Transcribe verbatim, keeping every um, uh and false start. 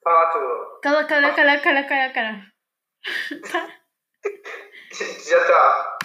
Fala a tua. Cala, cala, cala, cala, cala, cala. Já está.